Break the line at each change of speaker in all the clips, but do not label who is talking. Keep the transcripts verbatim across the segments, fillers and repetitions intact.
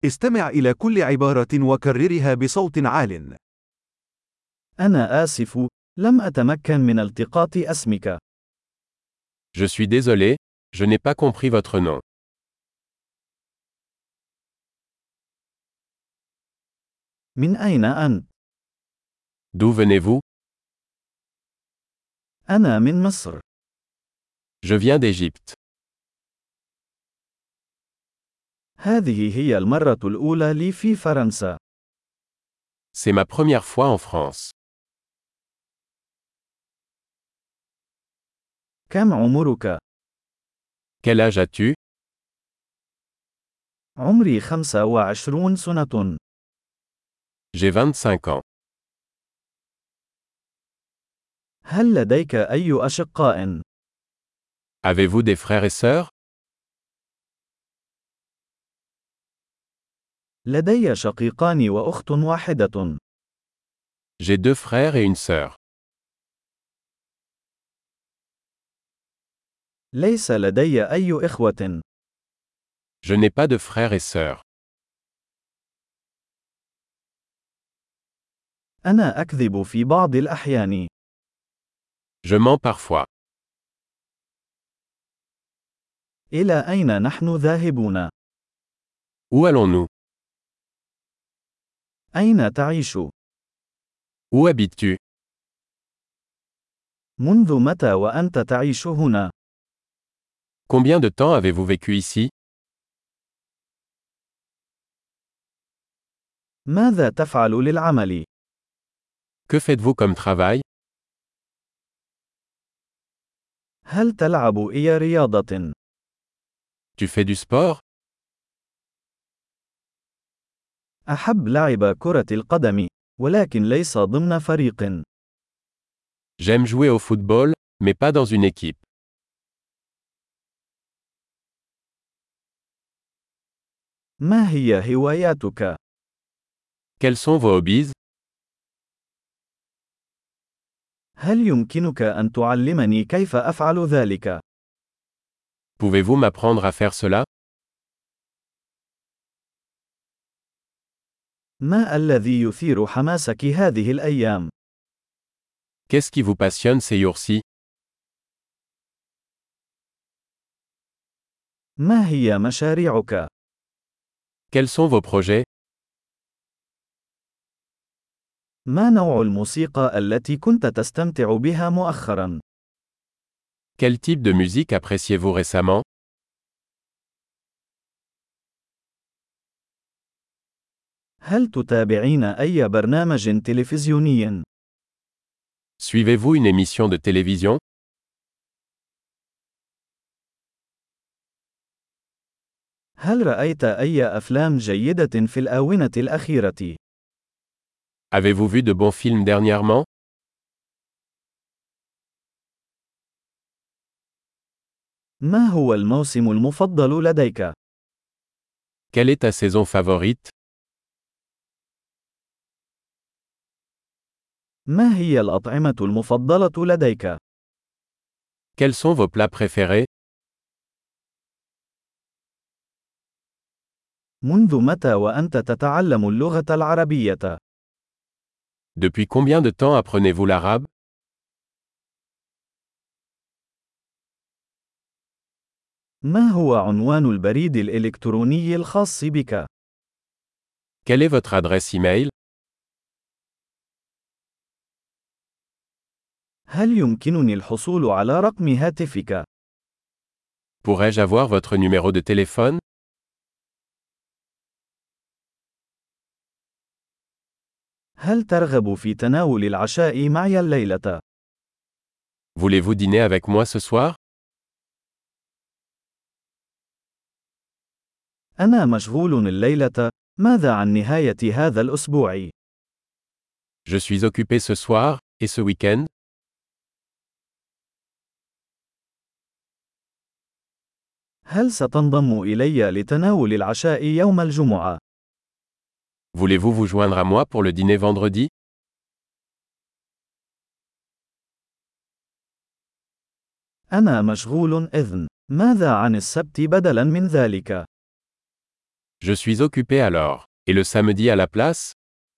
استمع إلى كل عبارة وكررها بصوت عال.
أنا آسف، لم أتمكن من التقاط اسمك.
Je suis désolé, je n'ai pas compris votre nom.
من أين أنت؟
D'où venez-vous?
أنا من مصر.
Je viens d'Égypte.
هذه هي المرة الأولى لي في فرنسا.
C'est ma première fois en France.
كم عمرك؟
Quel âge as-tu?
عمري خمسة وعشرون سنة.
J'ai vingt-cinq ans.
هل لديك أي أشقاء؟
Avez-vous des frères et sœurs?
لدي شقيقان وأخت واحدة.
J'ai deux frères et une sœur.
ليس لدي أي إخوة.
Je n'ai pas de frères et sœurs.
أنا أكذب في بعض الأحيان.
Je mens parfois.
إلى أين نحن ذاهبون؟
Où allons-nous?
أين تعيش؟
Où habites-tu?
منذ متى وأنت تعيش هنا؟
Combien de temps avez-vous vécu ici?
ماذا تفعل للعمل؟
Que faites-vous comme travail?
هل تلعب أي رياضة؟
Tu fais du sport?
أحب لعب كرة القدم، ولكن ليس ضمن فريق.
J'aime jouer au football, mais pas dans une équipe.
ما هي هواياتك؟
Quels sont vos hobbies?
هل يمكنك أن تعلمني كيف أفعل ذلك؟
Pouvez-vous m'apprendre à faire cela?
ما الذي يثير حماسك هذه الأيام؟
Qu'est-ce qui vous passionne ces jours-ci?
ما هي مشاريعك؟
Quels sont vos projets?
ما نوع الموسيقى التي كنت تستمتع بها مؤخرا؟
Quel type de musique appréciez-vous récemment?
هل تتابعين أي برنامج تلفزيوني؟
Suivez-vous une émission de télévision?
هل رأيت أي أفلام جيدة في الآونة الأخيرة؟
Avez-vous vu de bons films dernièrement?
ما هو الموسم المفضل لديك؟
Quelle est ta saison favorite?
ما هي الأطعمة المفضلة لديك؟
Quels sont vos plats préférés?
منذ متى وأنت تتعلم اللغة العربية؟
Depuis combien de temps apprenez-vous l'arabe?
ما هو عنوان البريد الإلكتروني الخاص بك؟
Quelle est votre adresse e-mail?
هل يمكنني الحصول على رقم هاتفك؟
Pourrais-je avoir votre numéro de téléphone?
هل ترغب في تناول العشاء معي الليلة؟
Voulez-vous dîner avec moi ce soir?
أنا مشغول الليلة. ماذا عن نهاية هذا الأسبوع؟
Je suis occupé ce soir, et ce week-end?
هل ستنضم إلي لتناول العشاء يوم الجمعة؟
Voulez-vous vous joindre à moi pour le dîner vendredi?
أنا مشغول إذن. ماذا عن السبت بدلاً من ذلك؟
Je suis occupé alors. Et le samedi à la place?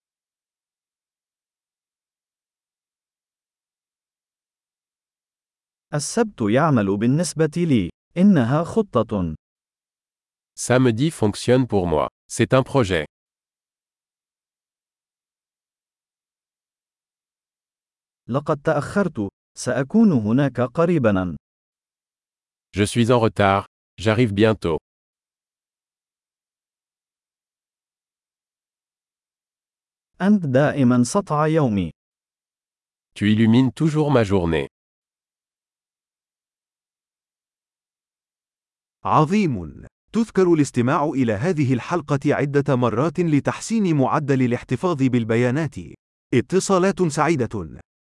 السبت يعمل بالنسبة لي. إنها خطة.
Samedi fonctionne pour moi. C'est un projet.
لقد تأخرت. سأكون هناك قريباً.
Je suis en retard. J'arrive bientôt.
أنت دائماً سطع يومي.
Tu illumines toujours ma journée.
عظيم. تذكر الاستماع إلى هذه الحلقة عدة مرات لتحسين معدل الاحتفاظ بالبيانات. اتصالات سعيدة.